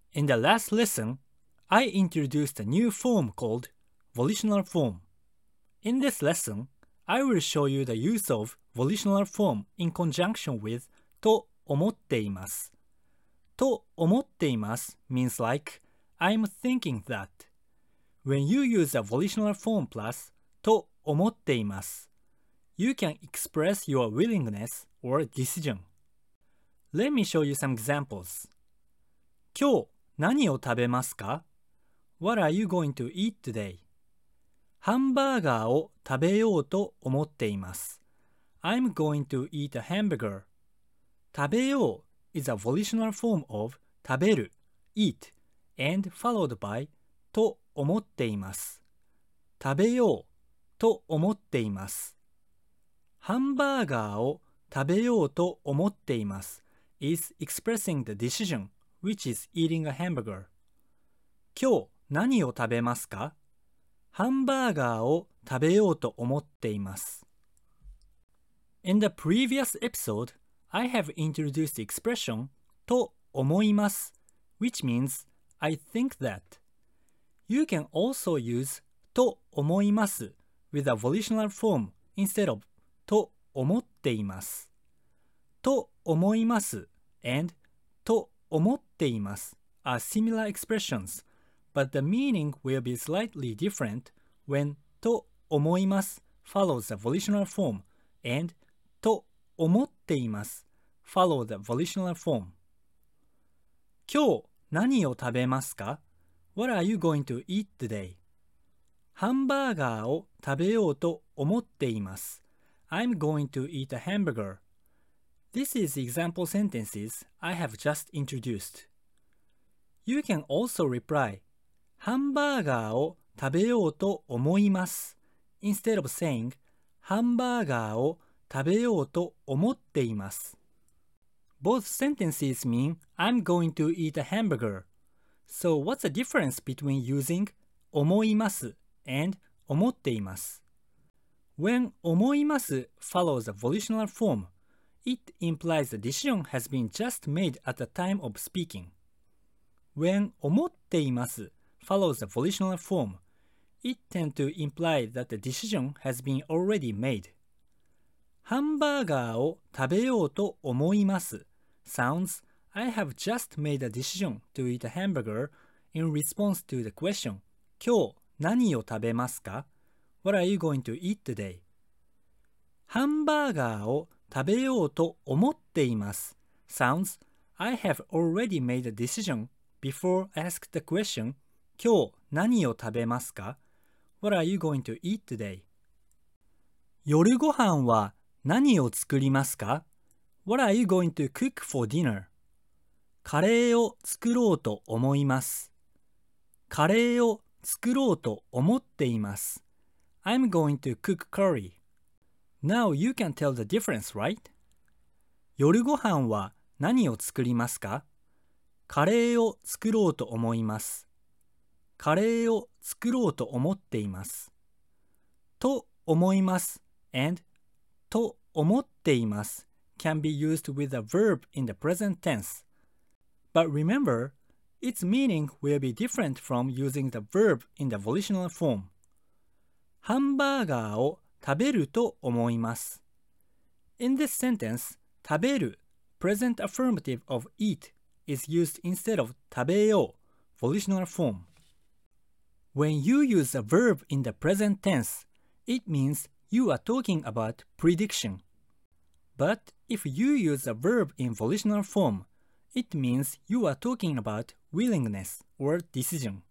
In the last lesson, I introduced a new form called volitional form. In this lesson, I will show you the use of volitional form in conjunction with と思っています。と思っています means like I'm thinking that. When you use a volitional form plus と思っています、you can express your willingness or decision. Let me show you some examples. 今日何を食べますか? What are you going to eat today? ハンバーガーを食べようと思っています。I'm going to eat a hamburger. 食べよう is a volitional form of 食べる eat and followed by と思っています。食べようと思っています。ハンバーガーを食べようと思っています is expressing the decision which is eating a hamburger. 今日何を食べますか? ハンバーガーを食べようと思っています。In the previous episode, I have introduced the expression と思います which means I think that. You can also use と思います with a volitional form instead of と思っています。と思います and と思っています are similar expressions, but the meaning will be slightly different when と思います follows the volitional form and と思っています follow the volitional form. 今日何を食べますか? What are you going to eat today? ハンバーガーを食べようと思っています。I'm going to eat a hamburger. This is example sentences I have just introduced. You can also reply ハンバーガーを食べようと思います instead of saying ハンバーガーを食べようと思っています。Both sentences mean I'm going to eat a hamburger. So what's the difference between using 思います and 思っています? When 思います follows a volitional form, it implies the decision has been just made at the time of speaking. When 思っています follows a volitional form, it tends to imply that the decision has been already made. ハンバーガーを食べようと思います sounds I have just made a decision to eat a hamburger in response to the question 今日何を食べますか? What are you going to eat today? ハンバーガーを食べようと思っています sounds I have already made a decision before I asked the question 今日何を食べますか? What are you going to eat today? 夜ご飯は何を作りますか? What are you going to cook for dinner? カレーを作ろうと思います。カレーを作ろうと思っています。I'm going to cook curry. Now you can tell the difference, right? 夜ご飯は何を作りますか? カレーを作ろうと思います。カレーを作ろうと思っています。と思います and と思っています can be used with a verb in the present tense. But remember, its meaning will be different from using the verb in the volitional form. ハンバーガーを食べると思います。In this sentence, 食べる present affirmative of eat is used instead of 食べよう volitional form. When you use a verb in the present tense, it means you are talking about prediction. But if you use a verb in volitional form, it means you are talking about willingness or decision.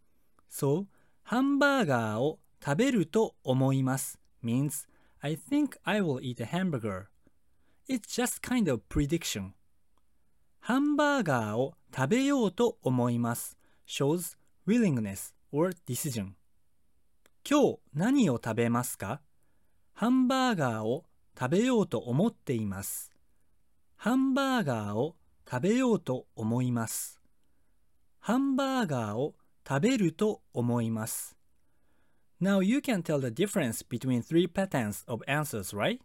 So, ハンバーガーを食べると思います means I think I will eat a hamburger. It's just kind of prediction. ハンバーガーを食べようと思います shows willingness or decision. 今日何を食べますか? ハンバーガーを食べようと思っています。ハンバーガーを食べようと思います。ハンバーガーを食べると思います。Now you can tell the difference between three patterns of answers, right?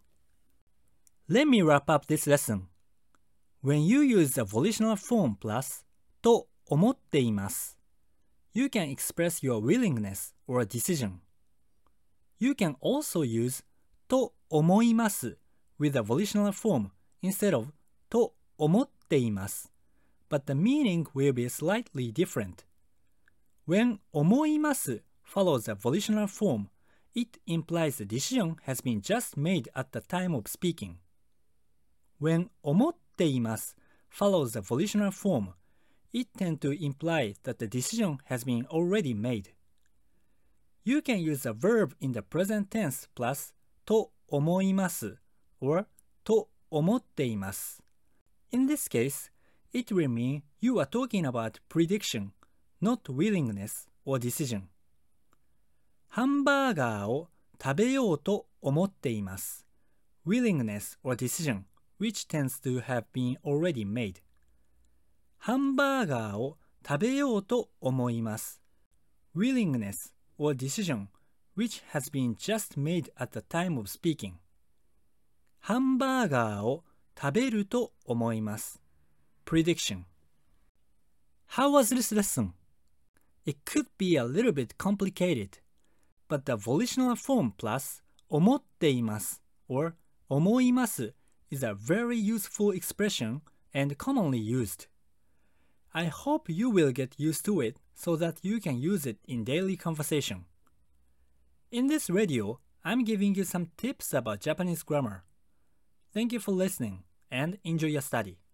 Let me wrap up this lesson. When you use the volitional form plus と思っています。You can express your willingness or decision. You can also use と思います with a volitional form instead of と思っています。But the meaning will be slightly different. When 思います follows a volitional form, it implies the decision has been just made at the time of speaking. When 思っています follows the volitional form, it tends to imply that the decision has been already made. You can use a verb in the present tense plus と思います or と思っています。In this case, it will mean you are talking about prediction, not willingness or decision. ハンバーガーを食べようと思っています。Willingness or decision, which tends to have been already made. ハンバーガーを食べようと思います。Willingness or decision, which has been just made at the time of speaking. ハンバーガーを食べると思います。Prediction. How was this lesson? It could be a little bit complicated, but the volitional form plus 思っています or 思います is a very useful expression and commonly used. I hope you will get used to it so that you can use it in daily conversation. In this radio, I'm giving you some tips about Japanese grammar. Thank you for listening and enjoy your study.